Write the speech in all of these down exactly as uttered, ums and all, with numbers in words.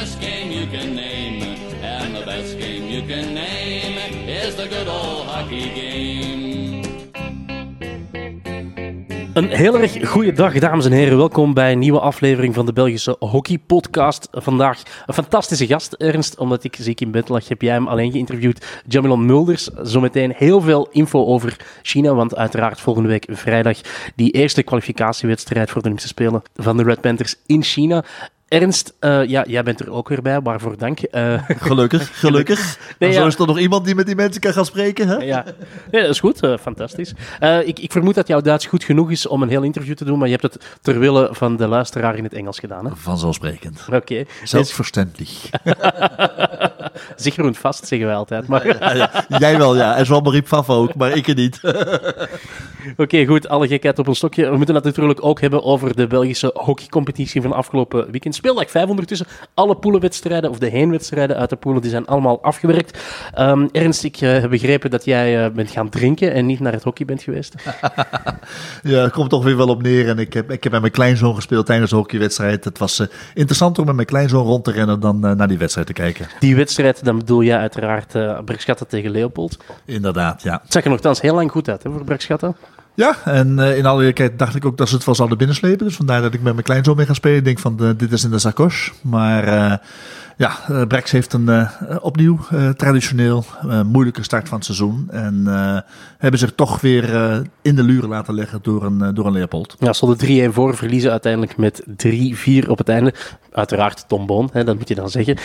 best game you can name. And the best game you can name is the good old hockey game. Een heel erg goede dag, dames en heren. Welkom bij een nieuwe aflevering van de Belgische Hockey Podcast. Vandaag een fantastische gast, Ernst. Omdat ik ziek in bed lag, heb jij hem alleen geïnterviewd. Jamilan Mulders. Zometeen heel veel info over China, want uiteraard volgende week vrijdag die eerste kwalificatiewedstrijd voor de Olympische Spelen van de Red Panthers in China. Ernst, uh, ja, jij bent er ook weer bij, waarvoor dank. Uh, gelukkig, gelukkig. Nee, ja. Zo is er nog iemand die met die mensen kan gaan spreken, hè? Ja, nee, dat is goed, uh, fantastisch. Uh, ik, ik vermoed dat jouw Duits goed genoeg is om een heel interview te doen, maar je hebt het ter wille van de luisteraar in het Engels gedaan, hè? Vanzelfsprekend. Oké. Okay. Zelfverständlich. Zeker en vast, zeggen wij altijd. Maar... ja, ja. Jij wel, ja. En Jean-Marie Pfaff ook, maar ik er niet. Oké, okay, goed. Alle gekheid op een stokje. We moeten het natuurlijk ook hebben over de Belgische hockeycompetitie van afgelopen weekend. Speeldag vijf ondertussen. Alle poelenwedstrijden, of de heenwedstrijden uit de poelen, die zijn allemaal afgewerkt. Um, Ernst, ik uh, heb begrepen dat jij uh, bent gaan drinken en niet naar het hockey bent geweest. Ja, het komt toch weer wel op neer. En ik heb, ik heb met mijn kleinzoon gespeeld tijdens de hockeywedstrijd. Het was uh, interessanter om met mijn kleinzoon rond te rennen dan uh, naar die wedstrijd te kijken. Die wedstrijd, dan bedoel jij uiteraard uh, Bergschatten tegen Leopold. Inderdaad, ja. Het zag er nogthans heel lang goed uit, hè, voor Bergschatten. Ja, en uh, in alle eerlijkheid dacht ik ook dat ze het wel zouden binnenslepen. Dus vandaar dat ik met mijn kleinzoon mee ga spelen. Ik denk van, uh, dit is in de sacoche. Maar uh, ja, uh, Brex heeft een uh, opnieuw uh, traditioneel uh, moeilijke start van het seizoen. En uh, hebben zich toch weer uh, in de luren laten leggen door een, uh, door een Leopold. Ja, stonden drie-een voor, verliezen uiteindelijk met drie-vier op het einde. Uiteraard Tom Boon, hè, dat moet je dan zeggen.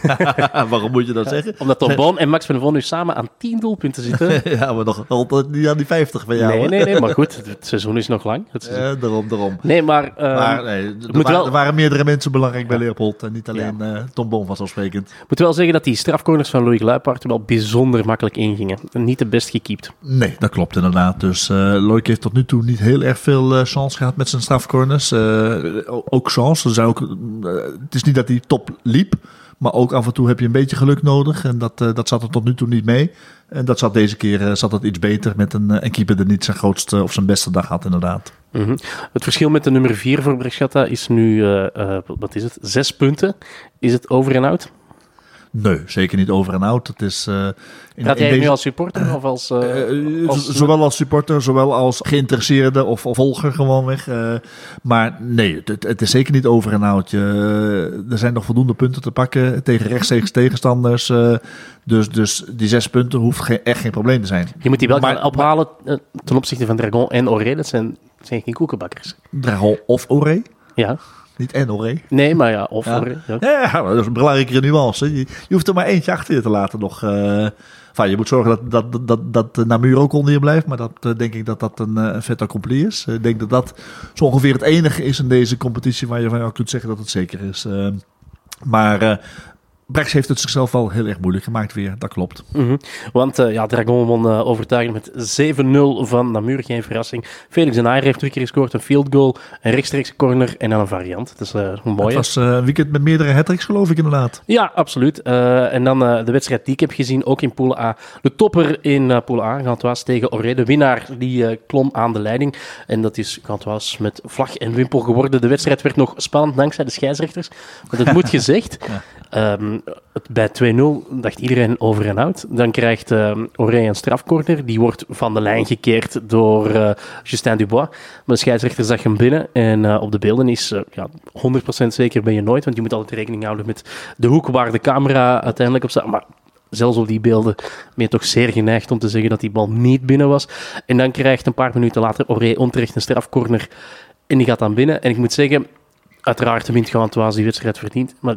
Waarom moet je dat zeggen? Omdat Tom Boon en Max van der Voon nu samen aan tien doelpunten zitten. Ja, maar nog altijd niet aan die vijftig van jou. Nee, nee, nee, maar goed, het seizoen is nog lang. Het ja, daarom, daarom. Nee, maar... Uh, maar nee, er, wa- wel... er waren meerdere mensen belangrijk bij Leopold en niet alleen ja. uh, Tom Boon vanzelfsprekend. Ik moet wel zeggen dat die strafcorners van Louis Gluipaert wel bijzonder makkelijk ingingen. Niet de best gekiept. Nee, dat klopt inderdaad. Dus uh, Loic heeft tot nu toe niet heel erg veel uh, chance gehad met zijn strafcorners. Uh, ook chance. Er zijn ook, uh, het is niet dat hij top liep, maar ook af en toe heb je een beetje geluk nodig. En dat, uh, dat zat er tot nu toe niet mee. En dat zat deze keer uh, zat het iets beter met een, uh, een keeper die niet zijn grootste of zijn beste dag had inderdaad. Mm-hmm. Het verschil met de nummer vier voor Bergschatta is nu, uh, uh, wat is het, zes punten. Is het over en out? Nee, zeker niet over en out. Het is, uh, in, Gaat jij in deze... nu als supporter of als... Uh, uh, als... Zowel als supporter, zowel als geïnteresseerde of, of volger gewoonweg. Uh, maar nee, het, het is zeker niet over en out. Je, er zijn nog voldoende punten te pakken tegen rechtstreeks tegenstanders. Uh, dus, dus die zes punten hoeft geen, echt geen probleem te zijn. Je moet die wel maar, gaan ophalen uh, ten opzichte van Dragon en Oré. Dat zijn, zijn geen koekenbakkers. Dragon of Oré? Ja. Niet en Oré. Nee, maar ja, of ja. Oré. Ja. Ja, dat is een belangrijke nuance. Je, je hoeft er maar eentje achter je te laten nog. Uh, enfin, je moet zorgen dat, dat, dat, dat, dat Namur ook onder je blijft. Maar dat uh, denk ik dat dat een uh, fait accompli is. Ik uh, denk dat dat zo ongeveer het enige is in deze competitie waar je van jou kunt zeggen dat het zeker is. Uh, maar... Uh, Brex heeft het zichzelf wel heel erg moeilijk gemaakt weer, dat klopt. Mm-hmm. Want uh, ja, Dragon won uh, overtuigend met zeven nul van Namur, geen verrassing. Felix de Naaier heeft drie keer gescoord, een field goal, een rechtstreekse corner en dan een variant. Dat is uh, een mooie. Het was uh, een weekend met meerdere hat-tricks, geloof ik inderdaad. Ja, absoluut. Uh, en dan uh, de wedstrijd die ik heb gezien, ook in Pool A. De topper in uh, Pool A, Gantoise tegen Oré. De winnaar die uh, klom aan de leiding. En dat is Gantoise met vlag en wimpel geworden. De wedstrijd werd nog spannend dankzij de scheidsrechters. Want het moet gezegd... Ja. Um, bij twee nul dacht iedereen over en out. Dan krijgt uh, Oré een strafcorner. Die wordt van de lijn gekeerd door uh, Justin Dubois. Maar de scheidsrechter zag hem binnen. En uh, op de beelden is uh, ja, honderd procent zeker ben je nooit. Want je moet altijd rekening houden met de hoek waar de camera uiteindelijk op staat. Maar zelfs op die beelden ben je toch zeer geneigd om te zeggen dat die bal niet binnen was. En dan krijgt een paar minuten later Oré onterecht een strafcorner. En die gaat dan binnen. En ik moet zeggen, uiteraard wint Gantoise die wedstrijd verdient. Maar...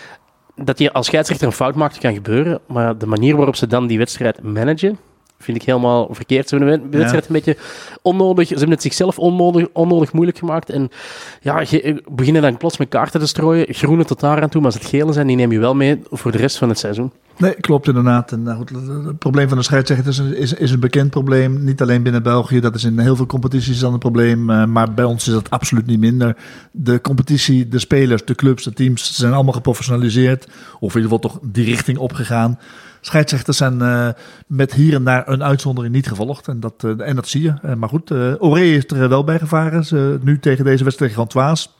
dat je als scheidsrechter een fout maakt, kan gebeuren. Maar de manier waarop ze dan die wedstrijd managen, vind ik helemaal verkeerd. Ze hebben de wedstrijd ja. een beetje onnodig... Ze hebben het zichzelf onnodig, onnodig moeilijk gemaakt. En ja, je, beginnen dan plots met kaarten te strooien. Groene tot daar aan toe, maar als het gele zijn, die neem je wel mee voor de rest van het seizoen. Nee, klopt inderdaad. En, nou goed, het probleem van de scheidsrechters is, is, is een bekend probleem. Niet alleen binnen België, dat is in heel veel competities dan een probleem. Uh, maar bij ons is dat absoluut niet minder. De competitie, de spelers, de clubs, de teams, ze zijn allemaal geprofessionaliseerd. Of in ieder geval toch die richting opgegaan. Scheidsrechters zijn uh, met hier en daar een uitzondering niet gevolgd. En dat, uh, en dat zie je. Uh, maar goed, uh, Oré is er wel bij gevaren. Ze, nu tegen deze wedstrijd tegen Gantoise.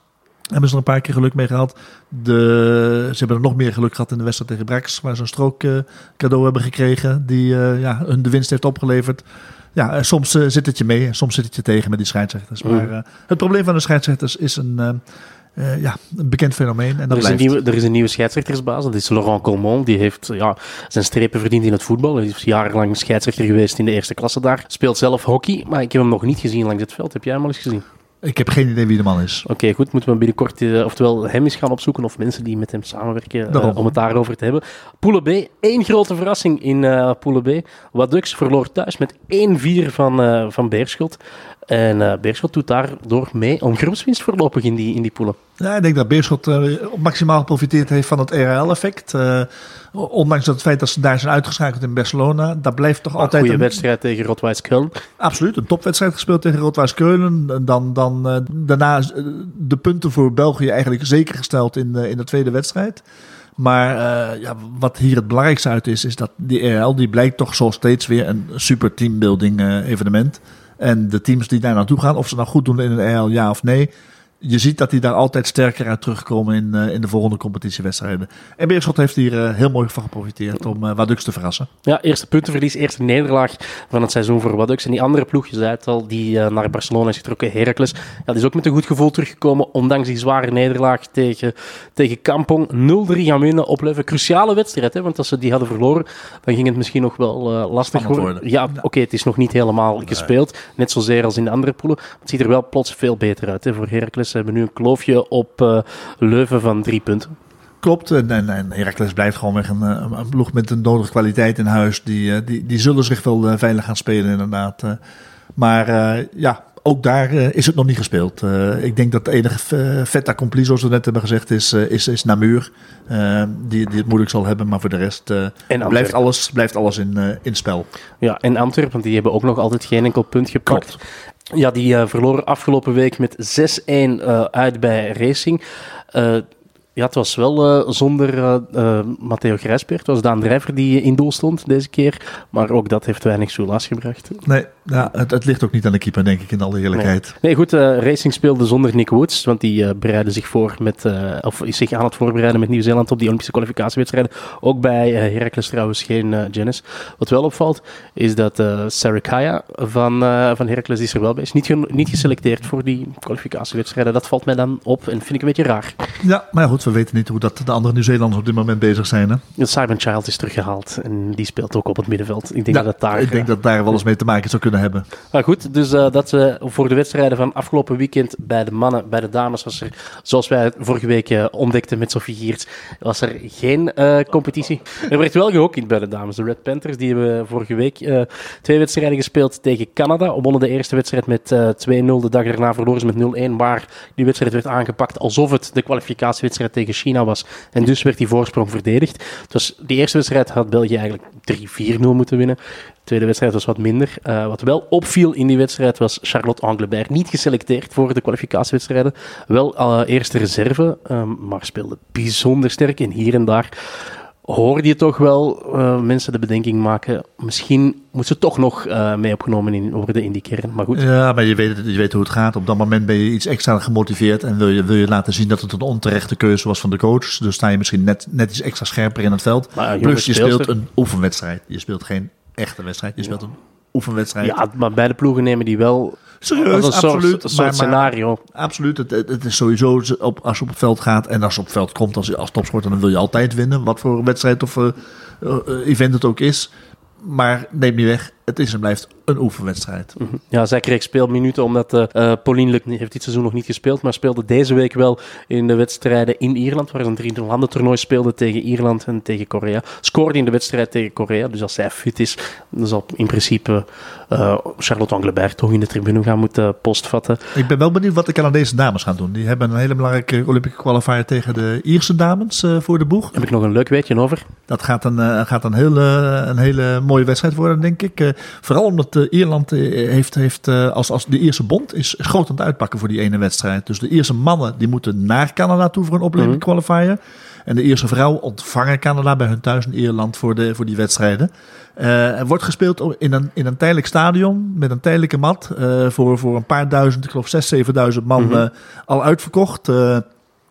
Hebben ze er een paar keer geluk mee gehad. De, ze hebben er nog meer geluk gehad in de wedstrijd tegen Brax, waar ze een strook uh, cadeau hebben gekregen die uh, ja, hun de winst heeft opgeleverd. Ja, soms uh, zit het je mee en soms zit het je tegen met die scheidsrechters. Mm. Maar uh, het probleem van de scheidsrechters is een, uh, uh, ja, een bekend fenomeen. En dat er, is blijft. Een nieuwe, er is een nieuwe scheidsrechtersbaas, dat is Laurent Colmont. Die heeft ja, zijn strepen verdiend in het voetbal. Hij is jarenlang scheidsrechter geweest in de eerste klasse daar. Speelt zelf hockey, maar ik heb hem nog niet gezien langs het veld. Heb jij hem al eens gezien? Ik heb geen idee wie de man is. Oké, okay, goed. Moeten we binnenkort uh, oftewel hem eens gaan opzoeken of mensen die met hem samenwerken uh, om het daarover te hebben. Poule B, één grote verrassing in uh, Poule B. Wadux verloor thuis met één vier van, uh, van Beerschot. En uh, Beerschot doet daardoor mee om groepswinst voorlopig in die, in die poelen. Ja, ik denk dat Beerschot uh, maximaal geprofiteerd heeft van het R L L-effect. Uh, ondanks dat het feit dat ze daar zijn uitgeschakeld in Barcelona. Dat blijft toch maar altijd een goede een wedstrijd tegen Rot-Weiss Köln. Absoluut, een topwedstrijd gespeeld tegen Rot-Weiss Keulen. Dan, dan uh, daarna uh, de punten voor België eigenlijk zeker gesteld in, uh, in de tweede wedstrijd. Maar uh, ja, wat hier het belangrijkste uit is, is dat die R L die blijkt toch zo steeds weer een super teambuilding uh, evenement. En de teams die daar naartoe gaan, of ze nou goed doen in een R L, ja of nee. Je ziet dat die daar altijd sterker uit terugkomen in, uh, in de volgende competitiewedstrijden. En Beerschot heeft hier uh, heel mooi van geprofiteerd om uh, Wadux te verrassen. Ja, eerste puntenverlies, eerste nederlaag van het seizoen voor Wadux. En die andere ploeg, je zei het al, die uh, naar Barcelona is getrokken, Heracles. Ja, die is ook met een goed gevoel teruggekomen, ondanks die zware nederlaag tegen, tegen Kampong. nul drie gaan winnen op Leuven. Cruciale wedstrijd, hè, want als ze die hadden verloren, dan ging het misschien nog wel uh, lastig worden. worden. Ja, oké, okay, het is nog niet helemaal nee. gespeeld. Net zozeer als in de andere poelen. Het ziet er wel plots veel beter uit hè, voor Heracles. Ze hebben nu een kloofje op uh, Leuven van drie punten. Klopt, en, en, en Heracles blijft gewoon weg een, een ploeg met een nodige kwaliteit in huis. Die, die, die zullen zich wel uh, veilig gaan spelen inderdaad. Uh, maar uh, ja, ook daar uh, is het nog niet gespeeld. Uh, ik denk dat de enige uh, fait accompli, zoals we net hebben gezegd, is, uh, is, is Namur. Uh, die, die het moeilijk zal hebben, maar voor de rest uh, blijft alles, blijft alles in, uh, in spel. Ja, en Antwerpen, want die hebben ook nog altijd geen enkel punt gepakt. Klopt. Ja, die uh, verloren afgelopen week met zes een uh, uit bij Racing. Uh, ja, het was wel uh, zonder uh, uh, Matteo Grijspeer. Het was Daan Drijver die in doel stond deze keer. Maar ook dat heeft weinig soelaas gebracht. Nee, ja, het, het ligt ook niet aan de keeper, denk ik, in alle eerlijkheid. Nee, nee goed, uh, Racing speelde zonder Nick Woods. Want die uh, bereidde zich voor met, uh, of is zich aan het voorbereiden met Nieuw-Zeeland op die Olympische kwalificatiewedstrijden. Ook bij uh, Heracles trouwens geen uh, Janice. Wat wel opvalt, is dat uh, Sarah Kaya van, uh, van Heracles is er wel bij. Is niet, ge- niet geselecteerd voor die kwalificatiewedstrijden. Dat valt mij dan op en vind ik een beetje raar. Ja, maar goed, we weten niet hoe dat de andere Nieuw-Zeelanders op dit moment bezig zijn. Hè? Simon Child is teruggehaald en die speelt ook op het middenveld. Ik denk ja, dat het daar... Ik denk dat daar wel eens mee te maken zou kunnen hebben. Maar goed, dus uh, dat we voor de wedstrijden van afgelopen weekend bij de mannen, bij de dames was er, zoals wij vorige week uh, ontdekten met Sophie Giertz, was er geen uh, competitie. Er werd wel gehockeyd bij de dames. De Red Panthers, die hebben vorige week uh, twee wedstrijden gespeeld tegen Canada. Wonnen de eerste wedstrijd met uh, twee nul. De dag daarna verloren ze met nul een, waar die wedstrijd werd aangepakt alsof het de kwalificatiewedstrijd tegen China was. En dus werd die voorsprong verdedigd. Dus die eerste wedstrijd had België eigenlijk drie vier nul moeten winnen. De tweede wedstrijd was wat minder. Uh, wat wel opviel in die wedstrijd was Charlotte Anglebert. Niet geselecteerd voor de kwalificatiewedstrijden. Wel uh, eerste reserve, um, maar speelde bijzonder sterk. En hier en daar hoorde je toch wel uh, mensen de bedenking maken. Misschien moet ze toch nog uh, mee opgenomen in, worden in die kern. Maar goed. Ja, maar je weet, je weet hoe het gaat. Op dat moment ben je iets extra gemotiveerd. En wil je, wil je laten zien dat het een onterechte keuze was van de coach. Dus sta je misschien net, net iets extra scherper in het veld. Maar, Plus je speelt een oefenwedstrijd. Je speelt geen echte wedstrijd. Je speelt een oefenwedstrijd. Ja, maar beide ploegen nemen die wel... Serieus, als een absoluut. soort, een soort maar, scenario. Maar, absoluut. Het, het is sowieso, op, als je op het veld gaat en als je op het veld komt als, als topsporter, dan wil je altijd winnen. Wat voor wedstrijd of uh, uh, event het ook is. Maar neem niet weg, het is en blijft een oefenwedstrijd. Mm-hmm. Ja, zij kreeg speelminuten omdat uh, uh, Pauline Luc heeft dit seizoen nog niet gespeeld, maar speelde deze week wel in de wedstrijden in Ierland, waar ze een drie landen toernooi speelde tegen Ierland en tegen Korea. Scoorde in de wedstrijd tegen Korea, dus als zij fit is, dan zal in principe uh, Charlotte Anglebert toch in de tribune gaan moeten postvatten. Ik ben wel benieuwd wat de Canadese dames gaan doen. Die hebben een hele belangrijke Olympische qualifier tegen de Ierse dames uh, voor de boeg. Heb ik nog een leuk weetje over? Dat gaat een, uh, gaat een, hele, een hele mooie wedstrijd worden, denk ik. Uh, vooral omdat uh, Ierland uh, heeft, heeft uh, als, als de Ierse bond is, is groot aan het uitpakken voor die ene wedstrijd. Dus de Ierse mannen die moeten naar Canada toe voor een Olympic mm-hmm. qualifier. En de Ierse vrouwen ontvangen Canada bij hun thuis in Ierland voor, de, voor die wedstrijden. Uh, er wordt gespeeld in een, in een tijdelijk stadion met een tijdelijke mat. Uh, voor, voor een paar duizend, ik geloof zes, zevenduizend man mm-hmm. uh, al uitverkocht. Uh,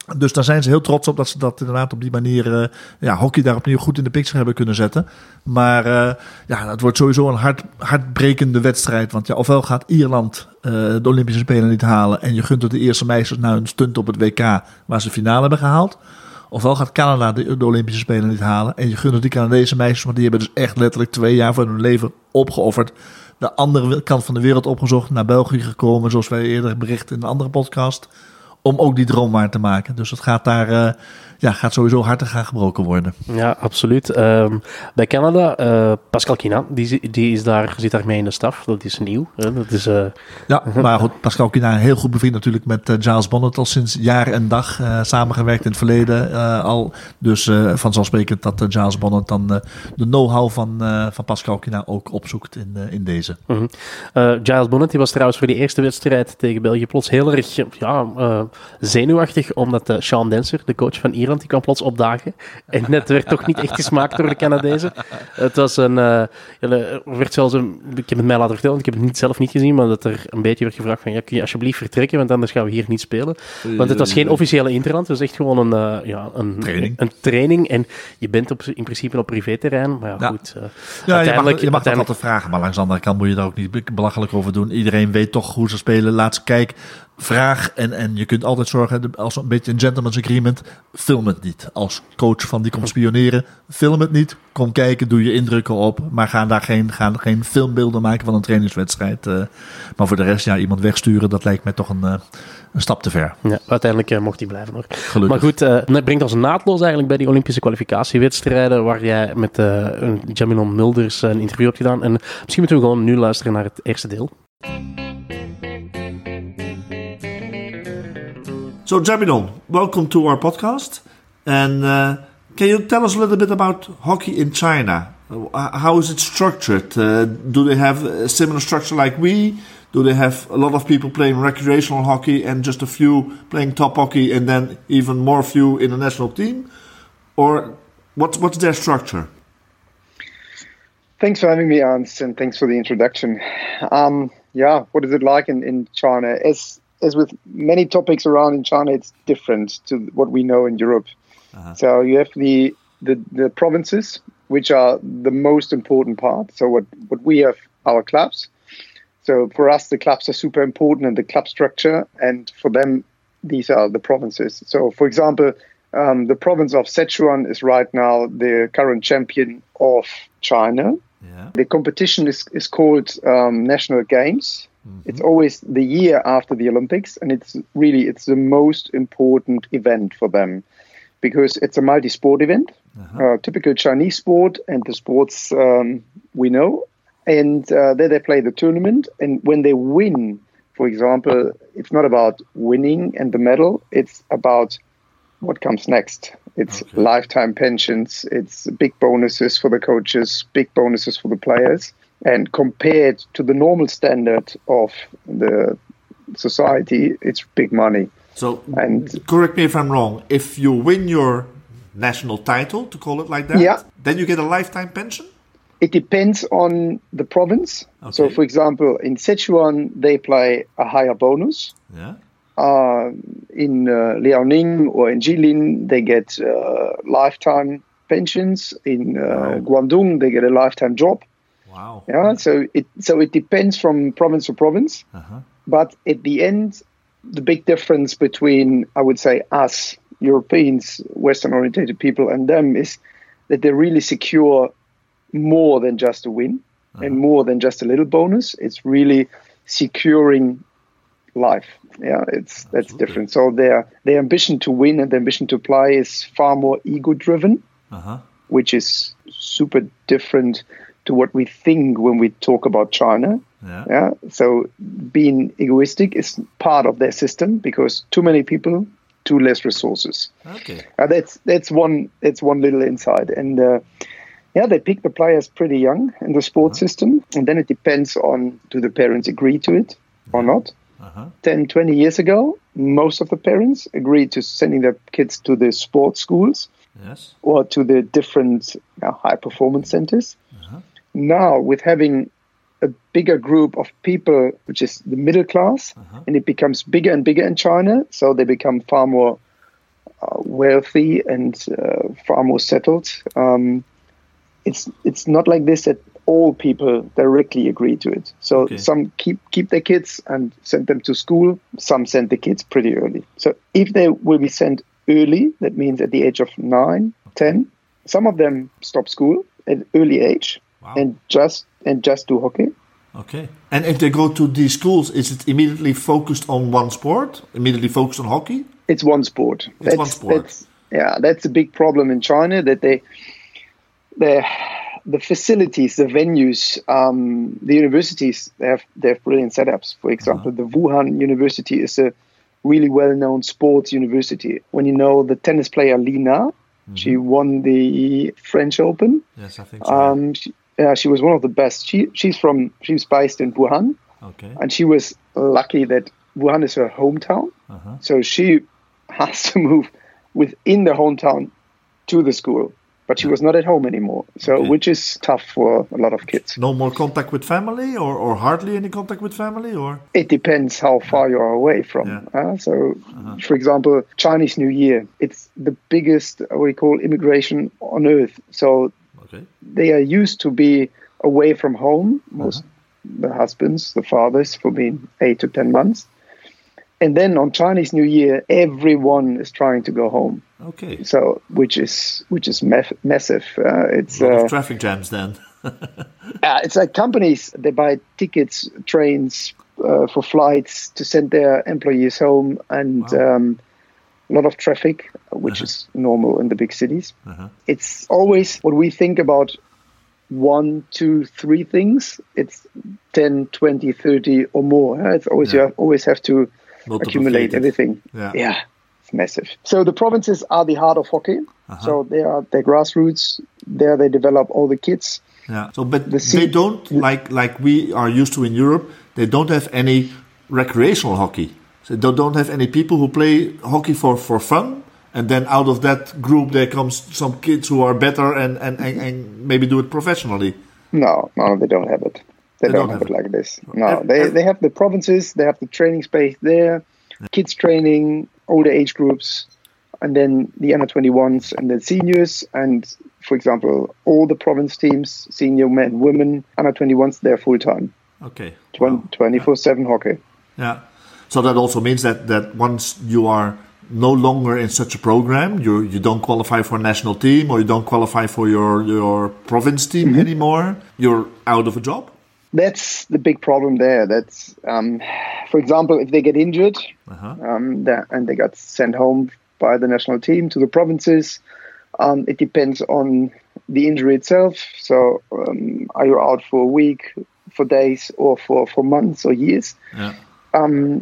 Dus daar zijn ze heel trots op dat ze dat inderdaad op die manier, uh, ja, hockey daar opnieuw goed in de picture hebben kunnen zetten. Maar uh, ja, het wordt sowieso een hart, hartbrekende wedstrijd. Want ja, ofwel gaat Ierland uh, de Olympische Spelen niet halen en je gunt het de eerste meisjes nou een stunt op het W K waar ze finale hebben gehaald. Ofwel gaat Canada de, de Olympische Spelen niet halen en je gunt het die Canadese meisjes, want die hebben dus echt letterlijk twee jaar van hun leven opgeofferd. De andere kant van de wereld opgezocht, naar België gekomen, zoals wij eerder berichten in een andere podcast, om ook die droom waar te maken. Dus het gaat daar uh, ja, gaat sowieso hartig gaan gebroken worden. Ja, absoluut. Um, bij Canada, uh, Pascal Quina, die, die is daar, zit daarmee in de staf. Dat is nieuw. Hè? Dat is, uh... Ja, maar goed, Pascal Quina heel goed bevriend natuurlijk met uh, Giles Bonnet al sinds jaar en dag uh, samengewerkt in het verleden uh, al. Dus uh, vanzelfsprekend dat uh, Giles Bonnet dan uh, de know-how van, uh, van Pascal Quina ook opzoekt in, uh, in deze. Mm-hmm. Uh, Giles Bonnet die was trouwens voor die eerste wedstrijd tegen België plots heel erg ja, uh, zenuwachtig, omdat uh, Sean Denser, de coach van Ierland, die kwam plots opdagen. En het werd toch niet echt gesmaakt door de Canadezen. Het was een... Uh, er werd zelfs een... Ik heb het mij laten vertellen, want ik heb het niet, zelf niet gezien, maar dat er een beetje werd gevraagd van, ja, kun je alsjeblieft vertrekken, want anders gaan we hier niet spelen. Want het was geen officiële interland, het was echt gewoon een, uh, ja, een, training. een training. En je bent op, in principe op privéterrein, maar ja, ja. goed. Uh, ja, je mag, je mag uiteindelijk... dat altijd vragen, maar langs de andere kant moet je daar ook niet belachelijk over doen. Iedereen weet toch hoe ze spelen. Laat ze kijken. Vraag en, en je kunt altijd zorgen, als een beetje een gentleman's agreement, film het niet. Als coach van die komt spioneren, film het niet. Kom kijken, doe je indrukken op, maar ga daar geen, ga geen filmbeelden maken van een trainingswedstrijd. Uh, maar voor de rest, ja, iemand wegsturen, dat lijkt mij toch een, uh, een stap te ver. Ja, uiteindelijk uh, mocht hij blijven hoor. Gelukkig. Maar goed, uh, dat brengt ons naadloos eigenlijk bij die Olympische kwalificatiewedstrijden, waar jij met uh, Jaminon Mulders een interview hebt gedaan. En misschien moeten we gewoon nu luisteren naar het eerste deel. So, Jaminon, welcome to our podcast. And uh, can you tell us a little bit about hockey in China? Uh, how is it structured? Uh, do they have a similar structure like we? Do they have a lot of people playing recreational hockey and just a few playing top hockey and then even more few in the national team? Or what's, what's their structure? Thanks for having me, Ernst, and thanks for the introduction. Um, yeah, what is it like in, in China? As As with many topics around in China, it's different to what we know in Europe. Uh-huh. So you have the, the the provinces, which are the most important part. So what, what we have, our clubs. So for us, the clubs are super important and the club structure. And for them, these are the provinces. So for example, um, the province of Sichuan is right now the current champion of China. Yeah. The competition is, is called um, National Games. Mm-hmm. It's always the year after the Olympics, and it's really it's the most important event for them because it's a multi-sport event, uh-huh. uh, typical Chinese sport, and the sports um, we know. And uh, there they play the tournament, and when they win, for example, it's not about winning and the medal; it's about what comes next. It's okay. Lifetime pensions, it's big bonuses for the coaches, big bonuses for the players. And compared to the normal standard of the society, it's big money. So, and correct me if I'm wrong, if you win your national title, to call it like that, yeah. then you get a lifetime pension? It depends on the province. Okay. So, for example, in Sichuan, they play a higher bonus. Yeah. Uh, in uh, Liaoning or in Jilin, they get uh, lifetime pensions. In uh, wow. Guangdong, they get a lifetime job. Wow. Yeah, so it so it depends from province to province. Uh-huh. But at the end, the big difference between, I would say, us, Europeans, Western-oriented people, and them is that they really secure more than just a win uh-huh. and more than just a little bonus. It's really securing life. Yeah, it's that's Absolutely. different. So their their ambition to win and their ambition to play is far more ego-driven, uh-huh. which is super different to what we think when we talk about China. Yeah. yeah. So being egoistic is part of their system because too many people, too less resources. Okay. Uh, that's that's one that's one little insight. And uh, yeah, they pick the players pretty young in the sports uh-huh. system, and then it depends on do the parents agree to it or not. Uh-huh. ten, twenty years ago, most of the parents agreed to sending their kids to the sports schools yes. or to the different uh, high performance centers. Uh-huh. Now, with having a bigger group of people, which is the middle class, uh-huh. and it becomes bigger and bigger in China, so they become far more uh, wealthy and uh, far more settled. Um, it's it's not like this that all people directly agree to it. So Okay. some keep keep their kids and send them to school. Some send the kids pretty early. So if they will be sent early, that means at the age of nine, ten. Some of them stop school at early age Wow. and just and just do hockey. Okay. And if they go to these schools, is it immediately focused on one sport? Immediately focused on hockey? It's one sport. It's one sport. That's, yeah, that's a big problem in China that they, they, the facilities, the venues, um, the universities, they have they have brilliant setups. For example, Uh-huh. the Wuhan University is a really well-known sports university. When you know the tennis player Li Na, Mm-hmm. she won the French Open. Yes, I think so. Um, she, yeah, she was one of the best. She she's from she's based in Wuhan. Okay. And she was lucky that Wuhan is her hometown. Uh-huh. So she has to move within the hometown to the school. But she was not at home anymore. So, Okay. which is tough for a lot of kids. No more contact with family, or, or hardly any contact with family, or? It depends how far you are away from. Yeah. Uh, so, for example, Chinese New Year, it's the biggest, what we call immigration on earth. So Okay. they are used to be away from home, most the husbands, the fathers, for being eight to ten months. And then on Chinese New Year, everyone is trying to go home. Okay. So, which is which is maff- massive. Uh, it's A lot uh, of traffic jams then. uh, it's like companies, they buy tickets, trains uh, for flights to send their employees home, and Wow. um, a lot of traffic, which is normal in the big cities. Uh-huh. It's always what we think about one, two, three things. It's ten, twenty, thirty or more. huh? It's always Yeah. you have, always have to Multiplicated. accumulate everything. Yeah. Yeah, it's massive. So the provinces are the heart of hockey. Uh-huh. So they are the grassroots. There they develop all the kids. Yeah. So, but The they sea- don't like like we are used to in Europe. They don't have any recreational hockey. So they don't have any people who play hockey for, for fun. And then out of that group, there comes some kids who are better and, and, and, and maybe do it professionally. No, no, they don't have it. They, don't, have it like this. No, they they have the provinces. They have the training space there, kids training, older age groups, and then the under twenty-ones and the seniors. And for example, all the province teams, senior men, women, under twenty-ones, they're full time, Okay. Wow. twenty-four seven hockey. Yeah. So that also means that, that once you are no longer in such a program, you you don't qualify for a national team, or you don't qualify for your, your province team Mm-hmm. anymore, you're out of a job? That's the big problem there. That's, um, for example, if they get injured Uh-huh. um, that, and they got sent home by the national team to the provinces, um, it depends on the injury itself. So um, are you out for a week, for days, or for, for months or years? Yeah. Um,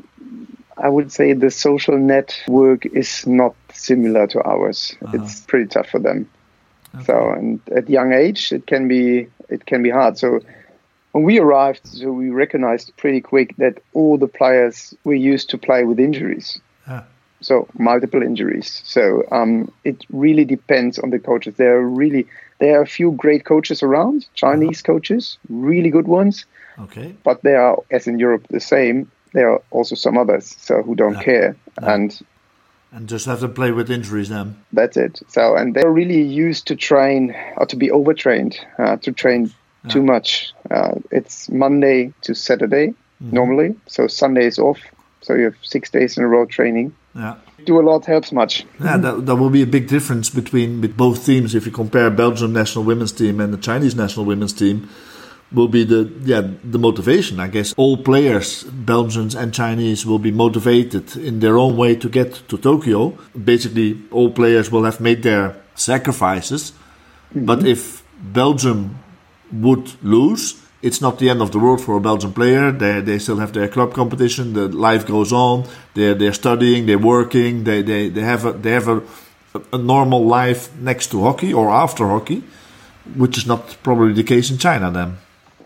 I would say the social network is not similar to ours. It's pretty tough for them. So, and at young age, it can be it can be hard. So, when we arrived, so we recognized pretty quick that all the players were used to play with injuries. Yeah. So multiple injuries. So um, it really depends on the coaches. There are really there are a few great coaches around, Chinese coaches, really good ones. Okay. But there are, as in Europe, the same. There are also some others so who don't Yeah. care, Yeah. and And just have to play with injuries then. that's it. So, and they're really used to train or to be overtrained, uh, to train too much. Uh, it's Monday to Saturday normally, so Sunday is off. So you have six days in a row training. Yeah. Do a lot helps much. Yeah, that, that will be a big difference between with both teams. If you compare Belgium national women's team and the Chinese national women's team, will be the yeah the motivation. I guess all players, Belgians and Chinese, will be motivated in their own way to get to Tokyo. Basically, all players will have made their sacrifices. Mm-hmm. But if Belgium would lose, it's not the end of the world for a Belgian player. They they still have their club competition. The life goes on. They're they're studying. They're working. They they they have a they have a, a normal life next to hockey or after hockey, which is not probably the case in China. Then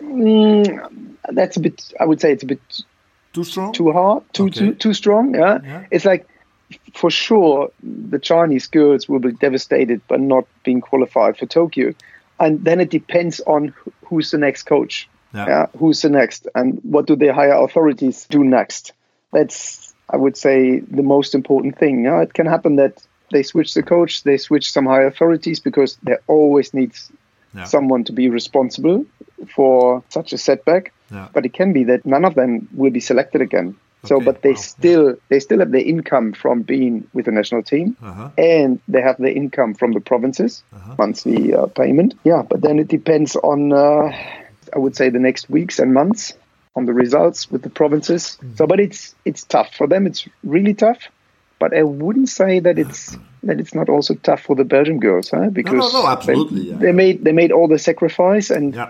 Mm, that's a bit. I would say it's a bit too strong. too hard, too Okay. too too strong. Yeah? Yeah. It's like for sure the Chinese girls will be devastated by not being qualified for Tokyo, and then it depends on who's the next coach. Yeah. Yeah, who's the next, and what do the higher authorities do next? That's, I would say, the most important thing. Yeah? It can happen that they switch the coach, they switch some high authorities because there always needs yeah. someone to be responsible for such a setback. Yeah. But it can be that none of them will be selected again. So, okay. but they wow. still yeah. they still have their income from being with the national team, uh-huh. and they have their income from the provinces, uh-huh. monthly uh, payment. Yeah, but then it depends on, uh, I would say, the next weeks and months on the results with the provinces. Mm-hmm. So, but it's it's tough for them. It's really tough. But I wouldn't say that it's that it's not also tough for the Belgian girls, huh? Because no, no, no, absolutely. they, yeah. they made they made all the sacrifice, and yeah.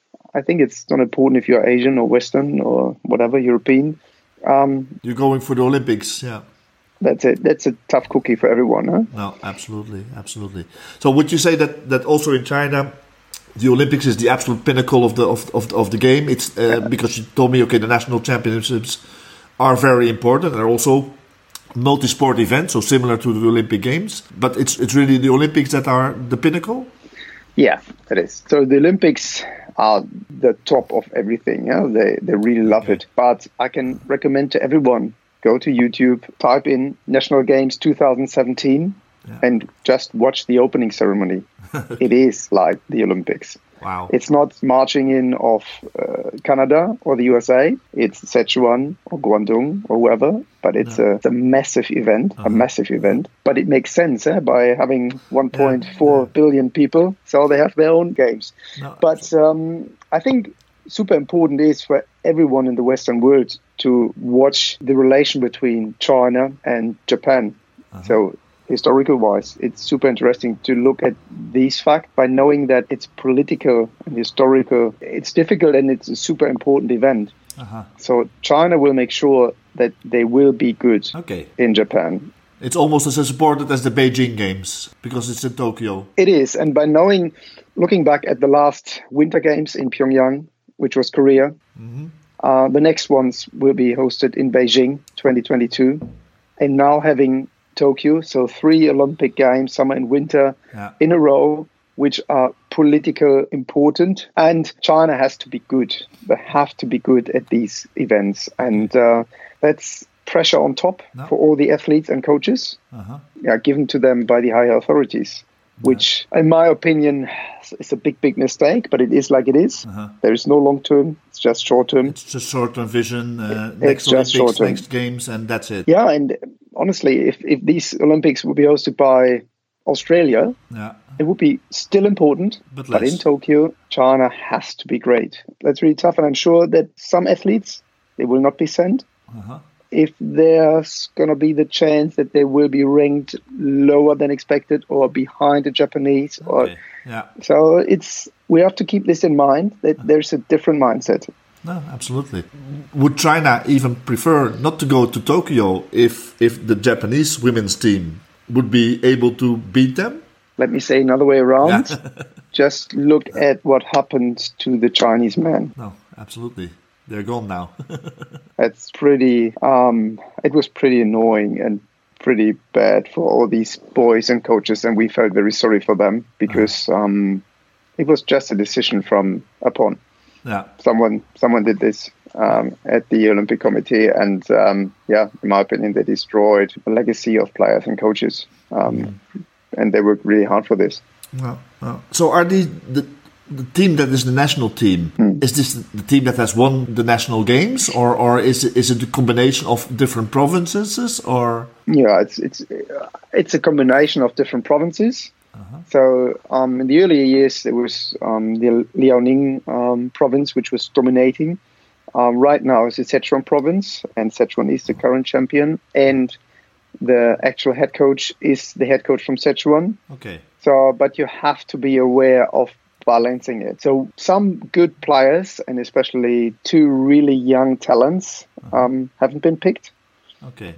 I think it's not important if you're Asian or Western or whatever European. Um, You're going for the Olympics, yeah. That's it. That's a tough cookie for everyone, huh? No, absolutely, absolutely. So, would you say that, that also in China, the Olympics is the absolute pinnacle of the of of, of the game? It's uh, yeah. because you told me, okay, the national championships are very important. They're also multi-sport events, so similar to the Olympic Games. But it's it's really the Olympics that are the pinnacle. Yeah, it is. So the Olympics are the top of everything. Yeah, they they really love okay. it. But I can recommend to everyone, go to YouTube, type in National Games twenty seventeen, yeah. and just watch the opening ceremony. It is like the Olympics. Wow! It's not marching in of uh, Canada or the U S A. It's Sichuan or Guangdong or whoever. But it's, no. a, it's a massive event, uh-huh. a massive event. But it makes sense eh, by having one point four yeah. billion people. So they have their own games. No, but um, I think super important is for everyone in the Western world to watch the relation between China and Japan. Uh-huh. So historical wise, it's super interesting to look at these facts by knowing that it's political and historical. It's difficult and it's a super important event. Uh-huh. So China will make sure that they will be good okay. in Japan. It's almost as supported as the Beijing Games because it's in Tokyo. It is. And by knowing, looking back at the last Winter Games in Pyongyang, which was Korea, mm-hmm. uh, the next ones will be hosted in Beijing twenty twenty-two. And now having Tokyo, so three Olympic Games, summer and winter, yeah. in a row, which are political important. And China has to be good. They have to be good at these events. And uh, that's pressure on top no. for all the athletes and coaches, uh-huh. yeah, given to them by the higher authorities, which, yeah. in my opinion, is a big, big mistake, but it is like it is. Uh-huh. There is no long term, it's just short term. It's just short term vision, uh, it, next Olympics, Olympics, next Games, and that's it. Yeah, and honestly, if, if these Olympics would be hosted by Australia, yeah. it would be still important, but, but in Tokyo, China has to be great. That's really tough, and I'm sure that some athletes, they will not be sent. Uh-huh. If there's going to be the chance that they will be ranked lower than expected or behind the Japanese. Or, okay. yeah. So it's we have to keep this in mind, that there's a different mindset. No, absolutely. Would China even prefer not to go to Tokyo if if the Japanese women's team would be able to beat them? Let me say another way around. Yeah. Just look at what happened to the Chinese men. No, absolutely. They're gone now. That's pretty, um, it was pretty annoying and pretty bad for all these boys and coaches. And we felt very sorry for them because uh-huh. um, it was just a decision from upon. Yeah. Someone someone did this um, at the Olympic Committee. And um, yeah, in my opinion, they destroyed the legacy of players and coaches. Um, mm. And they worked really hard for this. Well, well. So are these... the The team that is the national team, hmm. is this the team that has won the national games, or, or is it, is it a combination of different provinces, or? Yeah, it's it's it's a combination of different provinces. Uh-huh. So um, in the earlier years, there was um, the Liaoning um, province, which was dominating. Um, right now, it's the Sichuan province, and Sichuan is the current champion, and the actual head coach is the head coach from Sichuan. Okay. So, but you have to be aware of balancing it. So some good players, and especially two really young talents, uh-huh. um, haven't been picked. Okay.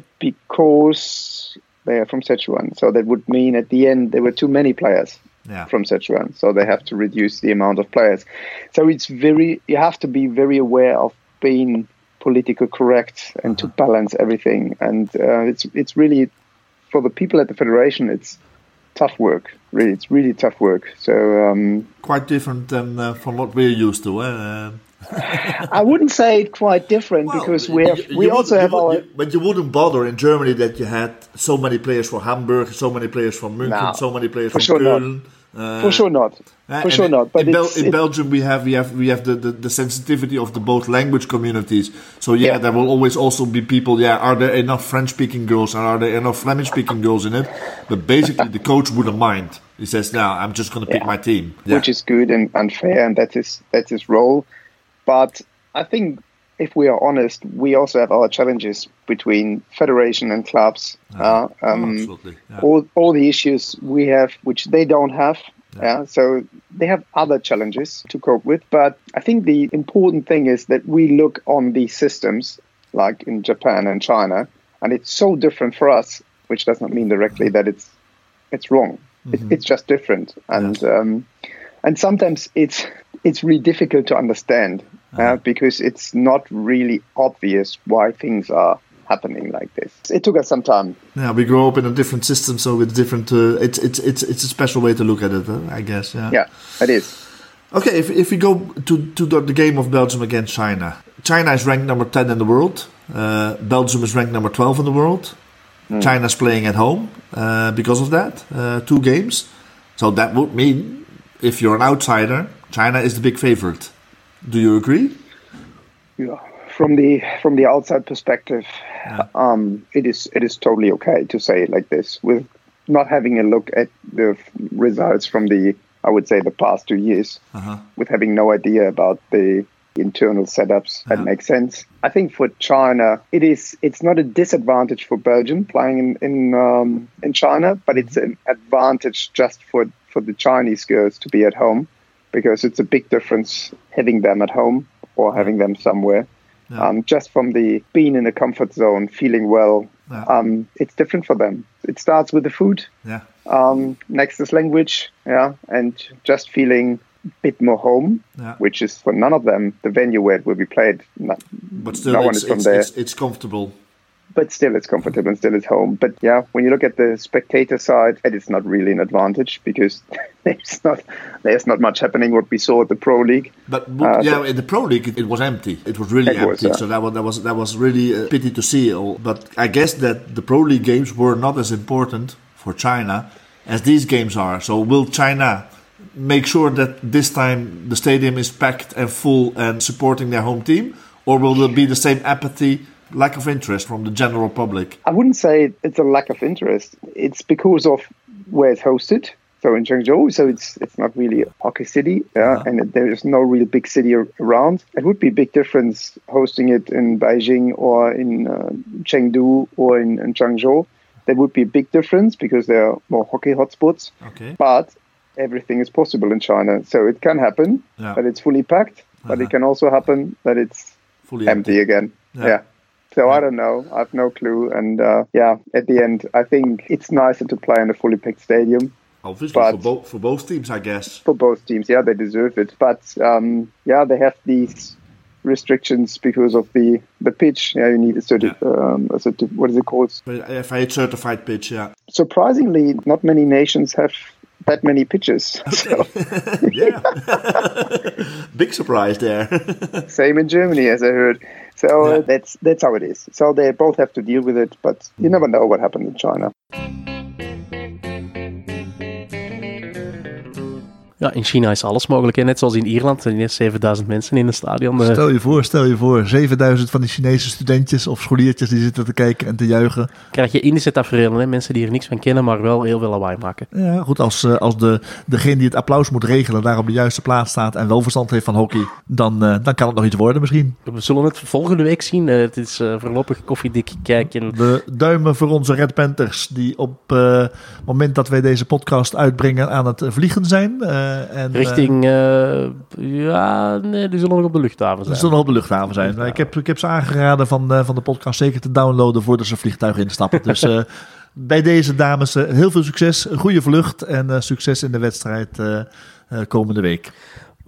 Because they are from Sichuan. So that would mean at the end there were too many players yeah. from Sichuan. So they have to reduce the amount of players. So it's very, you have to be very aware of being politically correct and uh-huh. to balance everything. And uh, it's it's really, for the people at the federation, it's tough work. Really, it's really tough work. So um, quite different than uh, from what we're used to. Uh, I wouldn't say it quite different well, because we have you, we you also would, have you would, our. You, but you wouldn't bother in Germany that you had so many players from Hamburg, so many players from München, No, so many players for from sure Köln. Not. Uh, for sure not. Uh, for sure in, not. But in, Bel- it's, in it's, Belgium, we have we have we have the, the, the sensitivity of the both language communities. So yeah, Yeah. there will always also be people. Yeah, are there enough French-speaking girls and are there enough Flemish-speaking girls in it? But basically, the coach wouldn't mind. He says, "No, I'm just going to pick Yeah. my team," yeah. which is good and, and fair, and that's his that's his role. But I think, if we are honest, we also have our challenges between federation and clubs. Uh, Uh, oh, um, absolutely. Yeah. all all the issues we have, which they don't have. Yeah. yeah. So they have other challenges to cope with. But I think the important thing is that we look on these systems, like in Japan and China, and it's so different for us, which does not mean directly that it's it's wrong. Mm-hmm. It, it's just different, and Yes. um, and sometimes it's it's really difficult to understand uh, Uh-huh. because it's not really obvious why things are happening like this. It took us some time. Yeah, we grow up in a different system, so it's different. Uh, it's it's it's it's a special way to look at it, uh, I guess. Yeah. Yeah, it is. Okay, if if we go to to the, the game of Belgium against China, China is ranked number ten in the world. Uh, Belgium is ranked number twelve in the world. Mm. China's playing at home uh, because of that. Uh, two games, so that would mean if you're an outsider, China is the big favorite. Do you agree? Yeah. From the from the outside perspective, Yeah. um, it is it is totally okay to say it like this, with not having a look at the f- results from the I would say the past two years, Uh-huh. with having no idea about the internal setups. That Yeah. makes sense. I think for China, it is it's not a disadvantage for Belgium playing in in, um, in China, but it's an advantage just for for the Chinese girls to be at home, because it's a big difference having them at home or having them somewhere. Yeah. Um, just from the being in a comfort zone, feeling well, Yeah. um, it's different for them. It starts with the food. Yeah. Um, next is language, yeah, and just feeling a bit more home, Yeah. which is for none of them the venue where it will be played. No, But still, no one it's, is from it's, there, it's it's comfortable. but still it's comfortable and still it's home. But yeah, when you look at the spectator side, it is not really an advantage because there's not there's not much happening. What we saw at the Pro League. But w- Uh, yeah, so- in the Pro League, it, it was empty. It was really It was, empty. yeah. So that was that was that was really a pity to see. All. But I guess that the Pro League games were not as important for China as these games are. So will China make sure that this time the stadium is packed and full and supporting their home team, or will there be the same apathy, lack of interest from the general public? I wouldn't say it's a lack of interest. It's because of where it's hosted. So in Zhengzhou, so it's it's not really a hockey city, yeah, Uh-huh. and there is no real big city ar- around. It would be a big difference hosting it in Beijing or in uh, Chengdu or in, in Zhengzhou. That would be a big difference because there are more hockey hotspots. Okay. But everything is possible in China, so it can happen Yeah. that it's fully packed, but Uh-huh. it can also happen that it's Fully empty, again. Yeah. Yeah. So Yeah. I don't know. I have no clue. And uh, yeah, at the end, I think it's nicer to play in a fully packed stadium Obviously, But- for both for both teams, I guess. for both teams. Yeah, they deserve it. But um, yeah, they have these restrictions because of the, the pitch. Yeah, you need a certain, um, a certain, what is it called? If I had certified pitch, yeah. Surprisingly, not many nations have that many pitches. So, Yeah. Big surprise there. same in Germany, as I heard. So Yeah. uh, that's that's how it is. So they both have to deal with it, but you never know what happened in China. Ja, in China is alles mogelijk, hè? Net zoals in Ierland. Er zijn zevenduizend mensen in het stadion. eh. Stel je voor, stel je voor, zevenduizend van die Chinese studentjes of scholiertjes die zitten te kijken en te juichen. Krijg je Indische tafereelen, hè? Mensen die er niks van kennen, maar wel heel veel lawaai maken. Ja, goed, als, eh, als de, degene die het applaus moet regelen daar op de juiste plaats staat en wel verstand heeft van hockey, dan, eh, dan kan het nog iets worden misschien. We zullen het volgende week zien. Eh, het is eh, voorlopig koffiedik kijken. We duimen voor onze Red Panthers die op eh, het moment dat wij deze podcast uitbrengen aan het vliegen zijn. Eh, en, Richting, eh, ja, nee, die zullen nog op de luchthaven Ze zijn. zullen nog op de luchthaven zijn. Luchthaven. Ik, heb, ik heb ze aangeraden van, uh, van de podcast zeker te downloaden voordat ze vliegtuig instappen. Dus uh, bij deze dames uh, heel veel succes, een goede vlucht en uh, succes in de wedstrijd uh, uh, komende week. We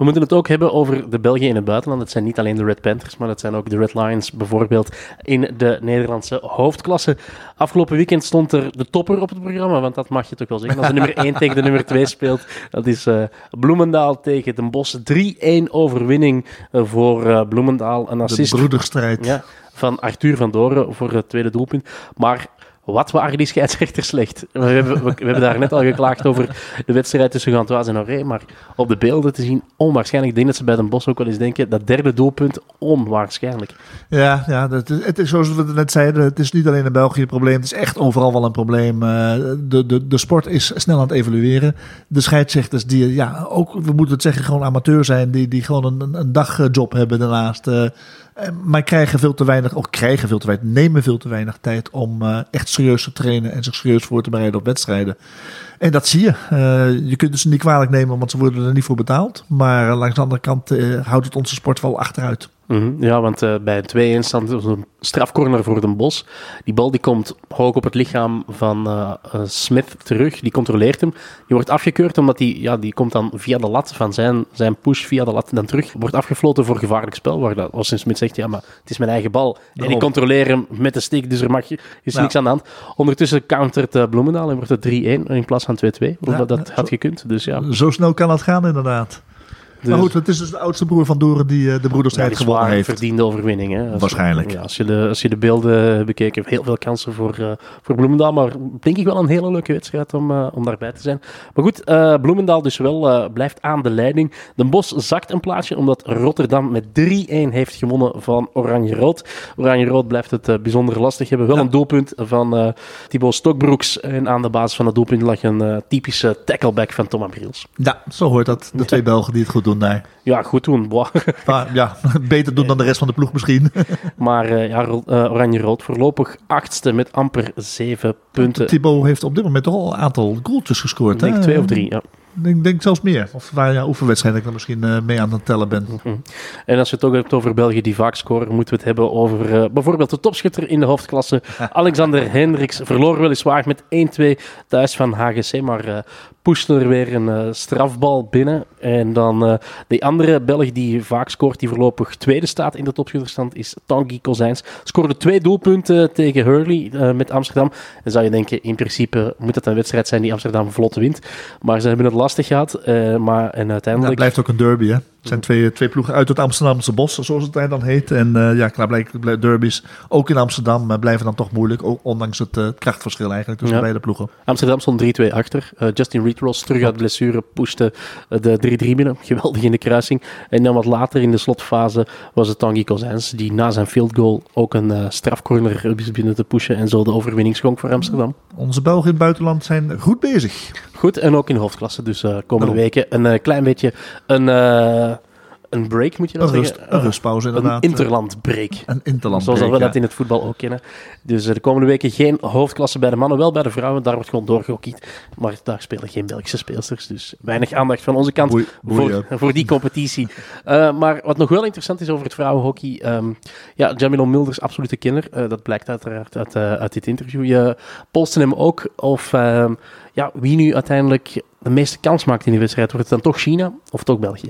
We moeten het ook hebben over de Belgen in het buitenland. Het zijn niet alleen de Red Panthers, maar het zijn ook de Red Lions bijvoorbeeld in de Nederlandse hoofdklasse. Afgelopen weekend stond er de topper op het programma, want dat mag je toch wel zeggen. Als de nummer één tegen de nummer twee speelt, dat is uh, Bloemendaal tegen Den Bosch. drie-één overwinning uh, voor uh, Bloemendaal. Een assist de broederstrijd. Ja, van Arthur van Doren voor het tweede doelpunt. Maar wat waren die scheidsrechters slecht. We hebben, we, we hebben daar net al geklaagd over de wedstrijd tussen Gantoise en Auray, maar op de beelden te zien, onwaarschijnlijk. Ik denk dat ze bij Den Bosch ook wel eens denken, dat derde doelpunt, onwaarschijnlijk. Ja, ja dat is, het is zoals we het net zeiden, het is niet alleen een België probleem, het is echt overal wel een probleem. Uh, de, de, de sport is snel aan het evolueren. De scheidsrechters die, ja, ook, we moeten het zeggen, gewoon amateur zijn, die, die gewoon een, een dagjob hebben daarnaast. Uh, maar krijgen veel te weinig, of krijgen veel te weinig, nemen veel te weinig tijd om uh, echt serieus te trainen en zich serieus voor te bereiden op wedstrijden. En dat zie je. Uh, je kunt het ze niet kwalijk nemen, want ze worden er niet voor betaald. Maar uh, langs de andere kant uh, houdt het onze sport wel achteruit. Mm-hmm. Ja, want uh, bij een twee-één stand is een strafcorner voor Den Bosch. Die bal die komt hoog op het lichaam van uh, uh, Smith terug. Die controleert hem. Die wordt afgekeurd omdat die, ja, die komt dan via de lat van zijn, zijn push via de lat dan terug. Wordt afgefloten voor gevaarlijk spel. Waar dat Austin Smith zegt, ja, maar het is mijn eigen bal. En ik controleer hem met de stick, dus er mag, is ja. niks aan de hand. Ondertussen countert uh, Bloemendaal en wordt het drie-één in plaats van twee-twee. Ja, dat dat ja, had zo, gekund. Dus, ja. Zo snel kan het gaan, inderdaad. Dus, maar goed, het is dus de oudste broer van Doren die uh, de broederstrijd ja, gewonnen heeft. Verdiende overwinning. Hè? Als, Waarschijnlijk. Ja, als, je de, als je de beelden bekeken hebt, heel veel kansen voor, uh, voor Bloemendaal. Maar denk ik wel een hele leuke wedstrijd om, uh, om daarbij te zijn. Maar goed, uh, Bloemendaal dus wel uh, blijft aan de leiding. Den Bosch zakt een plaatsje omdat Rotterdam met drie-één heeft gewonnen van Oranje-Rood. Oranje-Rood blijft het uh, bijzonder lastig hebben. Wel ja. een doelpunt van uh, Thibaut Stokbroeks. En aan de basis van het doelpunt lag een uh, typische tackleback van Thomas Briels. Ja, zo hoort dat. De twee Belgen die het goed doen. Nee. Ja, goed doen. Maar, ja, beter doen dan de rest van de ploeg misschien. Maar uh, ja, uh, Oranje-Rood voorlopig achtste met amper zeven punten. Thibaut heeft op dit moment toch al een aantal goaltjes gescoord. Ik denk hè? twee of drie, ja. Ik denk, denk zelfs meer. Of waar ja, oefenwedstrijden ik dan misschien uh, mee aan het tellen ben. Mm-hmm. En als je het ook hebt over België die vaak scoren, moeten we het hebben over uh, bijvoorbeeld de topschutter in de hoofdklasse. Alexander Hendricks verloor weliswaar met één-twee thuis van H G C, maar uh, pushte er weer een uh, strafbal binnen. En dan uh, de andere Belg die vaak scoort, die voorlopig tweede staat in de topschutterstand, is Tanguy Kozijns. Scoorde twee doelpunten tegen Hurley uh, met Amsterdam. En zou je denken, in principe moet het een wedstrijd zijn die Amsterdam vlot wint. Maar ze hebben het lastig gehad. Uh, maar, en uiteindelijk... Ja, het blijft ook een derby, hè? Het zijn twee, twee ploegen uit het Amsterdamse bos, zoals het dan heet. En uh, ja, klaarblijkelijk derbies, ook in Amsterdam, uh, blijven dan toch moeilijk. Ondanks het uh, krachtverschil eigenlijk tussen ja. beide ploegen. Amsterdam stond drie-twee achter. Uh, Justin Reed-Ross terug uit blessure, pushte uh, de drie-drie binnen. Geweldig in de kruising. En dan wat later in de slotfase was het Tanguy Kozijns, die na zijn field goal ook een uh, strafcorner wist binnen te pushen en zo de overwinning schonk voor Amsterdam. Onze Belgen in het buitenland zijn goed bezig. Goed, en ook in de hoofdklasse. Dus uh, komende Daarom. weken een uh, klein beetje een... Uh, Een break, moet je dat een zeggen? Rust, een rustpauze, inderdaad. Een interlandbreak. Een interlandbreak, zoals we ja. dat in het voetbal ook kennen. Dus de komende weken geen hoofdklasse bij de mannen, wel bij de vrouwen. Daar wordt gewoon doorgehockeyd. Maar daar spelen geen Belgische speelsters. Dus weinig aandacht van onze kant boei, boei, voor, ja. voor die competitie. Uh, maar wat nog wel interessant is over het vrouwenhockey. Um, ja, Jamilo Mulders, absolute kenner. Uh, dat blijkt uiteraard uit, uh, uit dit interview. Je polste hem ook of uh, ja, wie nu uiteindelijk de meeste kans maakt in die wedstrijd. Wordt het dan toch China of toch België?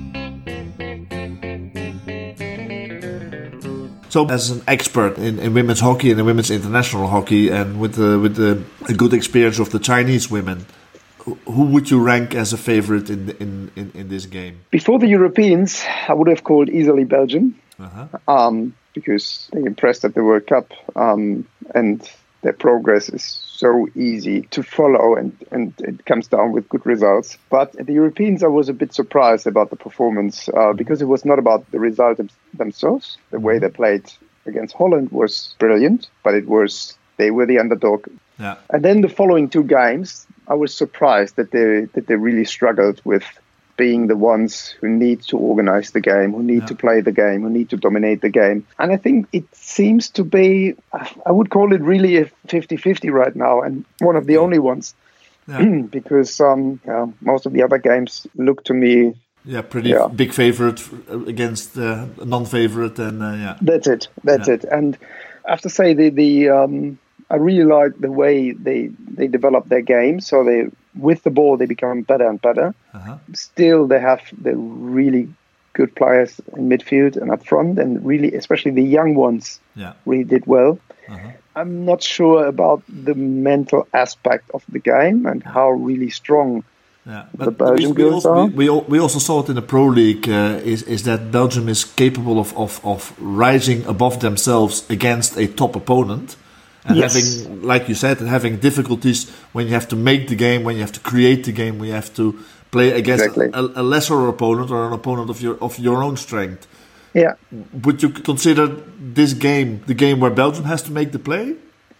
So, as an expert in, in women's hockey and in women's international hockey, and with the, with the a good experience of the Chinese women, who would you rank as a favorite in, the, in in in this game? Before the Europeans, I would have called easily Belgium, uh-huh. um, because they impressed at the World Cup, um, and their progress is so easy to follow, and, and it comes down with good results. But at the Europeans, I was a bit surprised about the performance uh, because it was not about the result themselves. The way they played against Holland was brilliant, but it was they were the underdog. Yeah. And then the following two games, I was surprised that they that they really struggled with being the ones who need to organize the game, who need yeah. to play the game, who need to dominate the game. And I think it seems to be, I would call it really a fifty-fifty right now, and one of the only ones. Yeah. Because um, yeah, most of the other games look to me... Yeah, pretty yeah. big favorite against uh, non-favorite. and uh, yeah. That's it, that's yeah. it. And I have to say, the, the um, I really like the way they, they develop their game. So they with the ball, they become better and better. Uh-huh. Still, they have the really good players in midfield and up front, and really, especially the young ones, Yeah. really did well. Uh-huh. I'm not sure about the mental aspect of the game and how really strong Yeah, the but Belgian we, we, girls also, are. we, we, al- we also saw it in the Pro League. Uh, is is that Belgium is capable of, of, of rising above themselves against a top opponent, and Yes. having, like you said, and having difficulties when you have to make the game, when you have to create the game, when you have to play against Exactly. a, a lesser opponent or an opponent of your of your own strength. Yeah, Would you consider this game the game where Belgium has to make the play?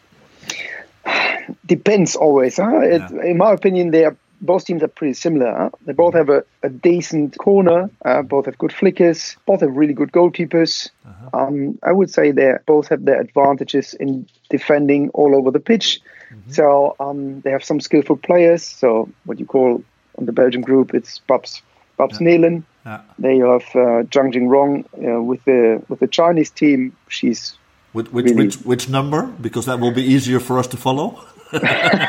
depends always. Huh? It, Yeah. In my opinion, they are both teams are pretty similar. Huh? They both have a, a decent corner. Uh, both have good flickers. Both have really good goalkeepers. Uh-huh. Um, I would say they both have their advantages in defending all over the pitch. Mm-hmm. So um, they have some skillful players. So what you call on the Belgian group, it's Babs Babs Nelen. Yeah. They have uh, Zhang Jingrong uh, with the with the Chinese team. She's Which which, Really? which which number? Because that will be easier for us to follow. uh,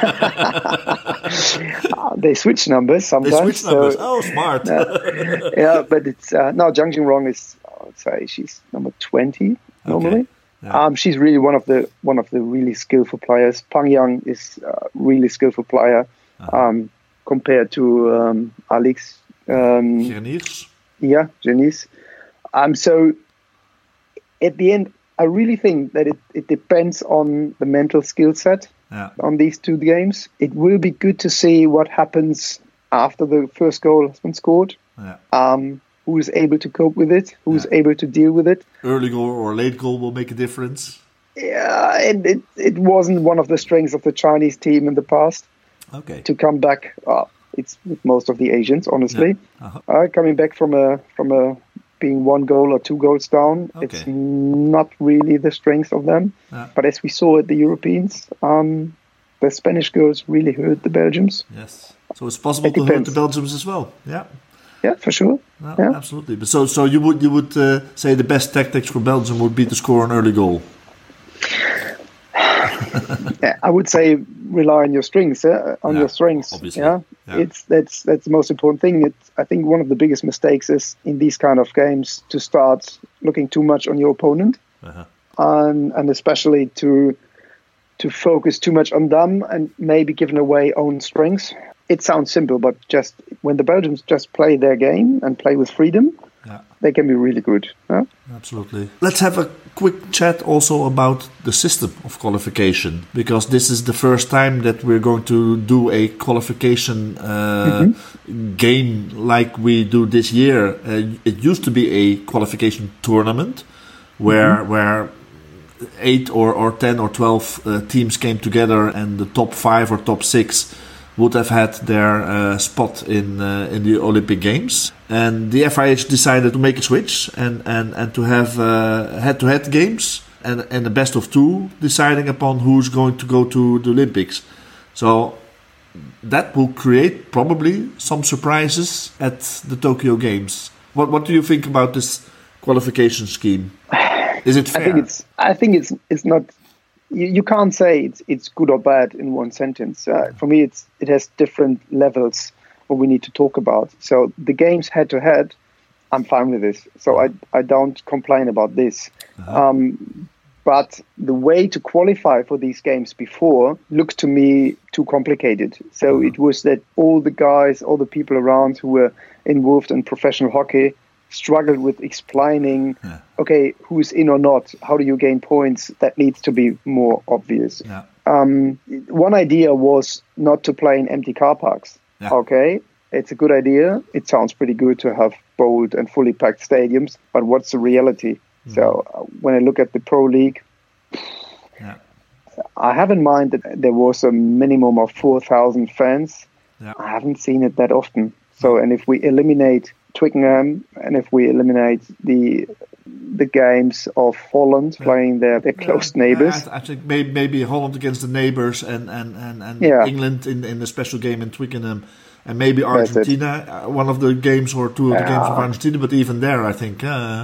they switch numbers They sometimes. switch numbers. So, Oh, smart. yeah, but it's uh, no Zhang Jingrong is I would say she's number twenty normally. Yeah. Um, she's really one of the one of the really skillful players. Pang Yang is a really skillful player um, compared to um, Alex. Um, Gerniers. Yeah, Janice. Um, so at the end, I really think that it, it depends on the mental skill set Yeah. on these two games. It will be good to see what happens after the first goal has been scored. Yeah. Um, who is able to cope with it? Who is Yeah. able to deal with it? Early goal or late goal will make a difference. Yeah, and it, it wasn't one of the strengths of the Chinese team in the past Okay. to come back. Uh, it's with most of the Asians, honestly. Yeah. Uh-huh. Uh, coming back from a from a being one goal or two goals down, Okay. it's not really the strength of them. Yeah. But as we saw at the Europeans, um, the Spanish girls really hurt the Belgians. Yes. So it's possible It to hurt depends. the Belgians as well. Yeah. Yeah, for sure. No, Yeah. Absolutely. But so so you would you would uh, say the best tactics for Belgium would be to score an early goal. Yeah, I would say rely on your strengths. Uh, on Yeah, your strengths. obviously. Yeah, Yeah. it's that's that's the most important thing. It's, I think one of the biggest mistakes is in these kind of games to start looking too much on your opponent, Uh-huh. and and especially to to focus too much on them and maybe giving away own strengths. It sounds simple, but just when the Belgians just play their game and play with freedom, Yeah. they can be really good. Huh? Absolutely. Let's have a quick chat also about the system of qualification, because this is the first time that we're going to do a qualification uh, game like we do this year. Uh, it used to be a qualification tournament where where eight or, or ten or twelve uh, teams came together, and the top five or top six would have had their uh, spot in uh, in the Olympic Games. And the F I H decided to make a switch and, and, and to have uh, head-to-head games and, and the best of two deciding upon who's going to go to the Olympics. So that will create probably some surprises at the Tokyo Games. What what do you think about this qualification scheme? Is it fair? I think it's. I think it's. It's not. You, you can't say it's it's good or bad in one sentence. Uh, for me, it's it has different levels what we need to talk about. So the games head to head, I'm fine with this. So I I don't complain about this. Um, but the way to qualify for these games before looked to me too complicated. So it was that all the guys, all the people around who were involved in professional hockey struggled with explaining, Yeah. okay, who's in or not, how do you gain points? That needs to be more obvious. Yeah. Um, one idea was not to play in empty car parks. Yeah. Okay, it's a good idea. It sounds pretty good to have bold and fully packed stadiums, but what's the reality? So uh, when I look at the Pro League, Yeah. I have in mind that there was a minimum of four thousand fans. Yeah. I haven't seen it that often. So, and if we eliminate Twickenham and if we eliminate the the games of Holland playing their, their close neighbours, I, I think maybe, maybe Holland against the neighbours and, and, and, and Yeah. England in, in the special game in Twickenham, and maybe That's it. Argentina, uh, one of the games or two of the games of Yeah. Argentina, but even there I think... Uh,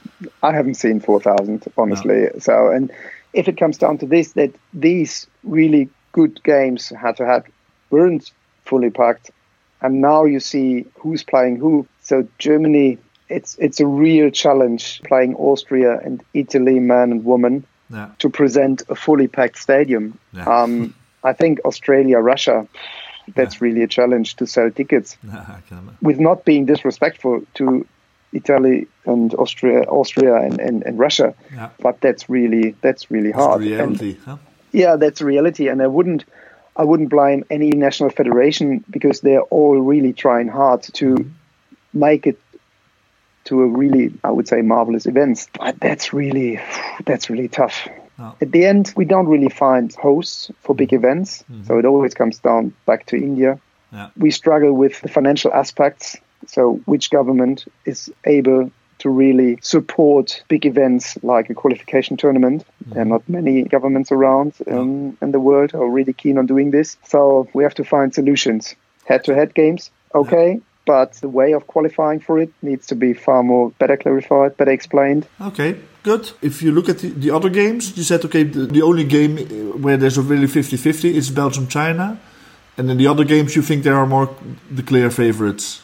I haven't seen four thousand, honestly. So, and if it comes down to this, that these really good games head to head weren't fully packed. And now you see who's playing who. So Germany, it's it's a real challenge playing Austria and Italy, man and woman, yeah. to present a fully packed stadium. Yeah. Um, I think Australia, Russia, that's yeah. really a challenge to sell tickets. Yeah, I can imagine. With not being disrespectful to Italy and Austria, Austria and, and, and Russia, yeah. but that's really that's really That's hard. the reality, and, huh? Yeah, that's reality, and I wouldn't I wouldn't blame any national federation because they're all really trying hard to mm-hmm. make it to a really, I would say, marvelous event. But that's really that's really tough. Oh. At the end, we don't really find hosts for big events, mm-hmm. so it always comes down back to India. Yeah. We struggle with the financial aspects. So which government is able to really support big events like a qualification tournament? Mm-hmm. There are not many governments around um, in the world who are really keen on doing this. So we have to find solutions. Head-to-head games, okay, yeah. but the way of qualifying for it needs to be far more better clarified, better explained. Okay, good. If you look at the, the other games, you said, okay, the, the only game where there's a really fifty-fifty is Belgium-China. And in the other games, you think there are more the clear favorites?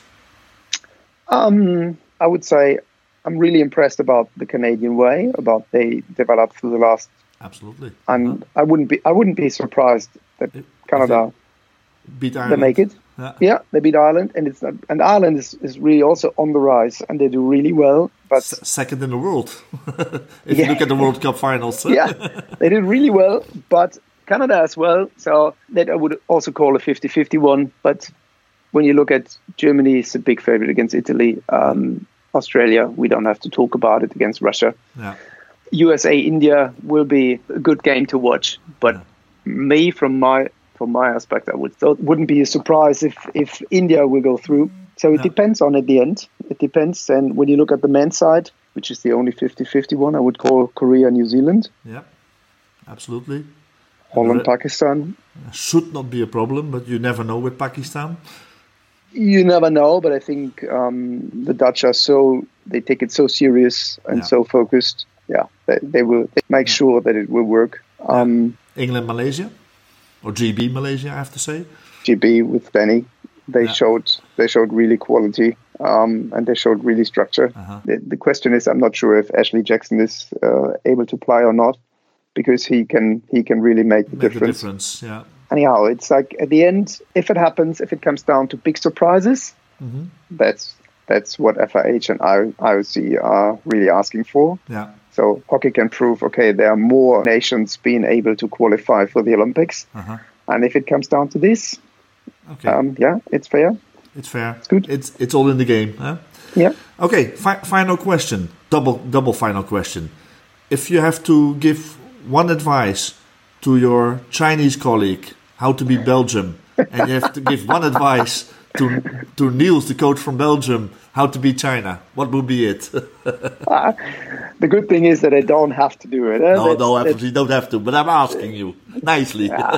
Um, I would say I'm really impressed about the Canadian way, about they developed through the last. Absolutely. And uh-huh. I wouldn't be I wouldn't be surprised that if, Canada if beat Ireland. They make it. Yeah. yeah, they beat Ireland, and it's and Ireland is, is really also on the rise, and they do really well. But S- second in the world, if yeah. you look at the World Cup finals. yeah, they did really well, but Canada as well. So that I would also call a fifty-fifty one, but. When you look at Germany, it's a big favorite against Italy. Um, Australia, we don't have to talk about it, against Russia. Yeah. U S A, India will be a good game to watch. But yeah. me, from my from my aspect, I would so it wouldn't be a surprise if, if India will go through. So it yeah. depends on at the end. It depends. And when you look at the men's side, which is the only fifty-fifty one, I would call Korea, New Zealand. Yeah, absolutely. Holland, re- Pakistan. Should not be a problem, but you never know with Pakistan. You never know, but I think um, the Dutch are so, they take it so serious and yeah. so focused. Yeah, they, they will they make yeah. sure that it will work. Um, yeah. England, Malaysia, or G B Malaysia, I have to say. G B with Benny, they yeah. showed they showed really quality um, and they showed really structure. Uh-huh. The, the question is, I'm not sure if Ashley Jackson is uh, able to play or not, because he can he can really make the make difference. The difference, yeah. Anyhow, it's like at the end, if it happens, if it comes down to big surprises, mm-hmm. that's that's what F I H and I O C are really asking for. Yeah. So hockey can prove, okay, there are more nations being able to qualify for the Olympics. Uh-huh. And if it comes down to this, okay. um, yeah, it's fair. It's fair. It's good. It's it's all in the game. Huh? Yeah. Okay, fi- final question. Double double final question. If you have to give one advice to your Chinese colleague how to beat Belgium, and you have to give one advice to to Niels, the coach from Belgium, how to beat China, what would be it? uh, the good thing is that I don't have to do it. Eh? No, that's, no, absolutely don't have to. But I'm asking you nicely. Yeah.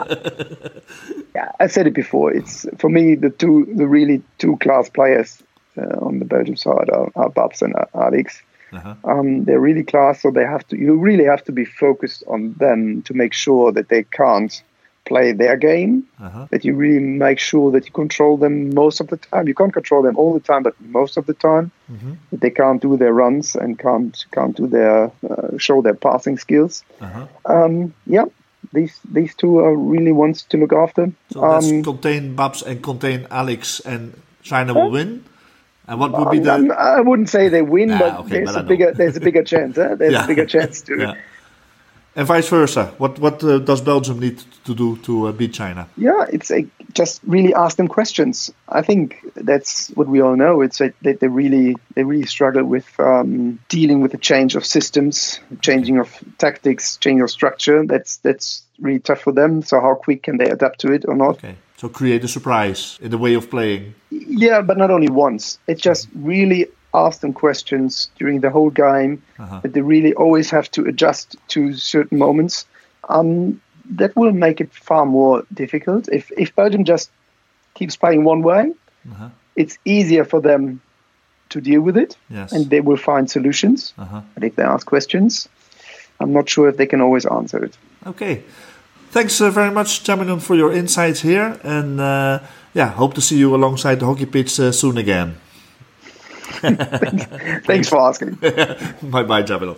yeah, I said it before. It's for me the two, the really two class players uh, on the Belgium side are, are Babs and Alex. Uh-huh. Um, they're really class, so they have to. You really have to be focused on them to make sure that they can't play their game. Uh-huh. That you really make sure that you control them most of the time. You can't control them all the time, but most of the time, mm-hmm. that they can't do their runs and can't can't do their uh, show their passing skills. Uh-huh. Um, yeah, these these two are really ones to look after. So let's um, contain Babs and contain Alex, and China will win. And what would be the? Um, I wouldn't say they win, nah, but okay, there's but a bigger there's a bigger chance. Eh? There's yeah. a bigger chance to. yeah. And vice versa. What what uh, does Belgium need to do to uh, beat China? Yeah, it's a, just really ask them questions. I think that's what we all know. It's that they, they really they really struggle with um, dealing with the change of systems, changing of tactics, changing of structure. That's that's really tough for them. So how quick can they adapt to it or not? Okay. So create a surprise in the way of playing. Yeah, but not only once. It's just really ask them questions during the whole game, uh-huh. that they really always have to adjust to certain moments. Um, that will make it far more difficult. If if Belgium just keeps playing one way, uh-huh. it's easier for them to deal with it, yes. and they will find solutions. Uh-huh. But if they ask questions, I'm not sure if they can always answer it. Okay. thanks uh, very much, Jaminon, for your insights here. And uh, yeah, hope to see you alongside the hockey pitch uh, soon again. thanks, thanks for asking. Bye bye, Jaminon.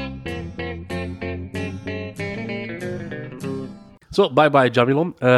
Zo, bye bye Jamilon. Uh,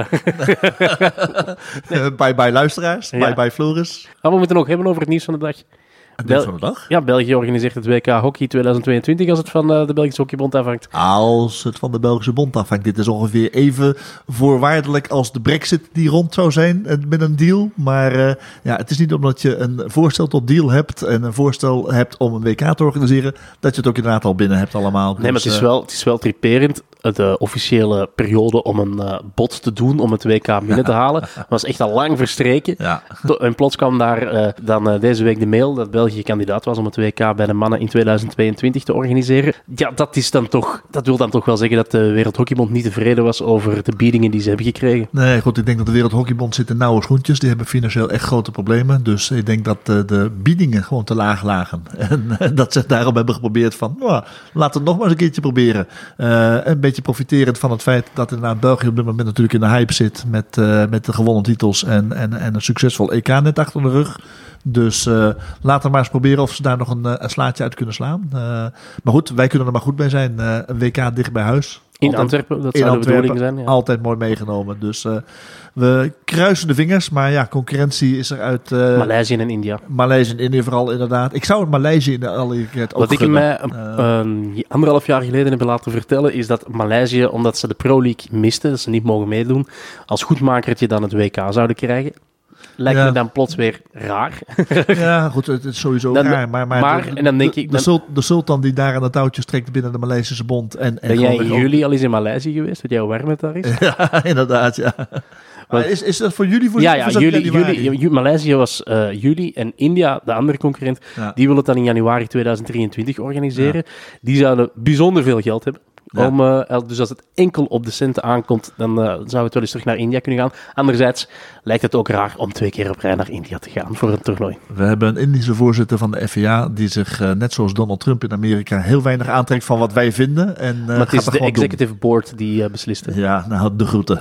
nee. Bye bye luisteraars. Ja. Bye bye Floris. Ah, we moeten nog hebben over het nieuws van de dag. Het nieuws van de dag? Ja, België organiseert het W K Hockey tweeduizend tweeëntwintig als het van uh, de Belgische Hockeybond afhangt. Als het van de Belgische Bond afhangt. Dit is ongeveer even voorwaardelijk als de Brexit die rond zou zijn met een deal. Maar uh, ja, het is niet omdat je een voorstel tot deal hebt en een voorstel hebt om een W K te organiseren, dat je het ook inderdaad al binnen hebt allemaal. Nee, dus, maar het is, wel, het is wel triperend. De officiële periode om een uh, bod te doen om het W K binnen te halen was echt al lang verstreken. Ja. En plots kwam daar uh, dan uh, deze week de mail dat België kandidaat was om het W K bij de mannen in tweeduizend tweeëntwintig te organiseren. Ja, dat is dan toch, dat wil dan toch wel zeggen dat de Wereldhockeybond niet tevreden was over de biedingen die ze hebben gekregen. Nee, goed, ik denk dat de Wereldhockeybond zit in nauwe schoentjes. Die hebben financieel echt grote problemen. Dus ik denk dat uh, de biedingen gewoon te laag lagen. En uh, dat ze daarom hebben geprobeerd van, nou, laten we het nog maar eens een keertje proberen. Uh, een beetje profiterend van het feit dat inderdaad België op dit moment natuurlijk in de hype zit met, uh, met de gewonnen titels en, en, en een succesvol E K net achter de rug. Dus uh, laten we maar eens proberen of ze daar nog een, een slaatje uit kunnen slaan. Uh, maar goed, wij kunnen er maar goed bij zijn. Uh, een W K dicht bij huis. In altijd, Antwerpen, dat zou de bedoeling zijn. Ja. Altijd mooi meegenomen. Dus uh, we kruisen de vingers. Maar ja, concurrentie is er uit... Uh, Maleisië en India. Maleisië en India vooral inderdaad. Ik zou het Maleisië in de allereerst ook Wat ik gunnen. mij uh, een anderhalf jaar geleden heb laten vertellen, is dat Maleisië, omdat ze de Pro League misten, dat ze niet mogen meedoen, als goedmakertje dan het W K zouden krijgen. Lijkt ja. me dan plots weer raar. Ja, goed, het is sowieso dan, raar. Maar, maar, maar de, en dan denk de, ik... De, sul, de sultan die daar aan het touwtje trekt binnen de Maleisische bond. En, en ben jij in juli al eens in Maleisië geweest? Wat jouw warm het daar is? Ja, inderdaad, ja. Maar is, is dat voor jullie? Voor ja, ja voor juli, juli, Maleisië was uh, juli en India, de andere concurrent, ja. die wil het dan in januari tweeduizend drieëntwintig organiseren. Ja. Die zouden bijzonder veel geld hebben. Ja. Om, uh, dus als het enkel op de centen aankomt, dan uh, zou het wel eens terug naar India kunnen gaan. Anderzijds lijkt het ook raar om twee keer op rij naar India te gaan voor een toernooi. We hebben een Indische voorzitter van de F I A die zich, uh, net zoals Donald Trump in Amerika, heel weinig aantrekt van wat wij vinden. En, uh, maar het is de executive doen. board die uh, beslist. Hè? Ja, nou, de groeten.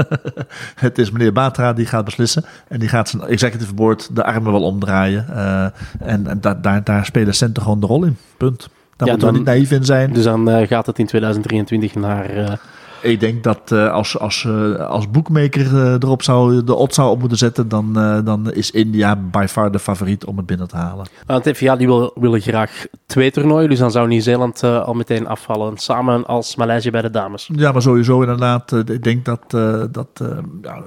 Het is meneer Batra die gaat beslissen. En die gaat zijn executive board de armen wel omdraaien. Uh, en en da- daar, daar spelen centen gewoon de rol in. Punt. Daar ja, moeten we niet naïef in zijn. Dus dan uh, gaat het in tweeduizend drieëntwintig naar... Uh... Ik denk dat uh, als, als, uh, als boekmaker uh, erop zou, de odds zou op moeten zetten, dan, uh, dan is India by far de favoriet om het binnen te halen. Want F I A die wil, willen graag twee toernooien, dus dan zou Nieuw-Zeeland uh, al meteen afvallen. Samen als Maleisië bij de dames. Ja, maar sowieso inderdaad. Uh, ik denk dat... Uh, dat uh, ja,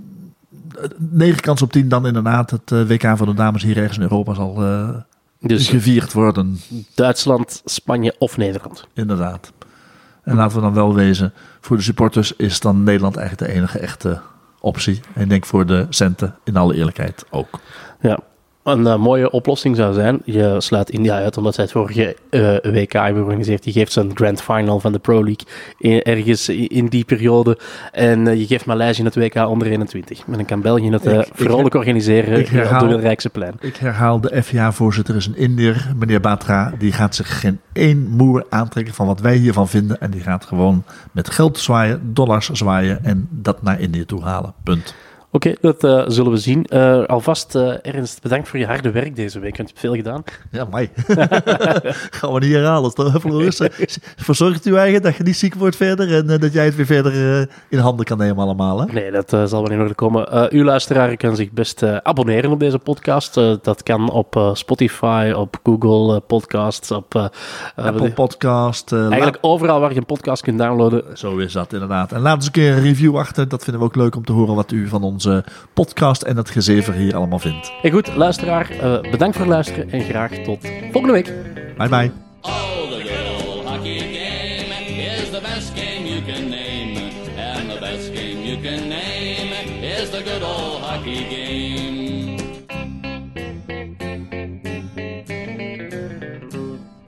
negen kans op tien dan inderdaad het uh, W K voor de dames hier ergens in Europa zal... Uh, Dus gevierd worden. Duitsland, Spanje of Nederland. Inderdaad. En laten we dan wel wezen, voor de supporters is dan Nederland eigenlijk de enige echte optie. En ik denk voor de centen in alle eerlijkheid ook. Ja. Een uh, mooie oplossing zou zijn, je sluit India uit omdat zij het vorige uh, W K hebben georganiseerd. Je geeft ze een grand final van de Pro League in, ergens in, in die periode. En uh, je geeft Maleisië het W K onder eenentwintig. En dan kan België het uh, ik, vrolijk ik, organiseren ik herhaal, op de Wilrijkse plein. Ik herhaal, de F I A-voorzitter is een Indiër, meneer Batra. Die gaat zich geen één moer aantrekken van wat wij hiervan vinden. En die gaat gewoon met geld zwaaien, dollars zwaaien en dat naar Indië toe halen. Punt. Oké, okay, dat uh, zullen we zien. Uh, alvast, uh, Ernst, bedankt voor je harde werk deze week. Want je hebt veel gedaan. Ja, mij. Gaan we niet herhalen, toch? Floris? Verzorgt u eigen dat je niet ziek wordt verder en uh, dat jij het weer verder uh, in handen kan nemen allemaal, hè? Nee, dat uh, zal wel in orde komen. Uh, uw luisteraar kan zich best uh, abonneren op deze podcast. Uh, dat kan op uh, Spotify, op Google uh, Podcasts, op... Uh, Apple uh, Podcast. Uh, eigenlijk la- overal waar je een podcast kunt downloaden. Zo is dat, inderdaad. En laat eens een keer een review achter. Dat vinden we ook leuk om te horen wat u van ons podcast en het gezever hier allemaal vindt. Hey, goed, luisteraar, uh, bedankt voor het luisteren en graag tot volgende week. Bye bye. Oh, the good old hockey game is the best game you can name. And the best game you can name is the good old hockey game.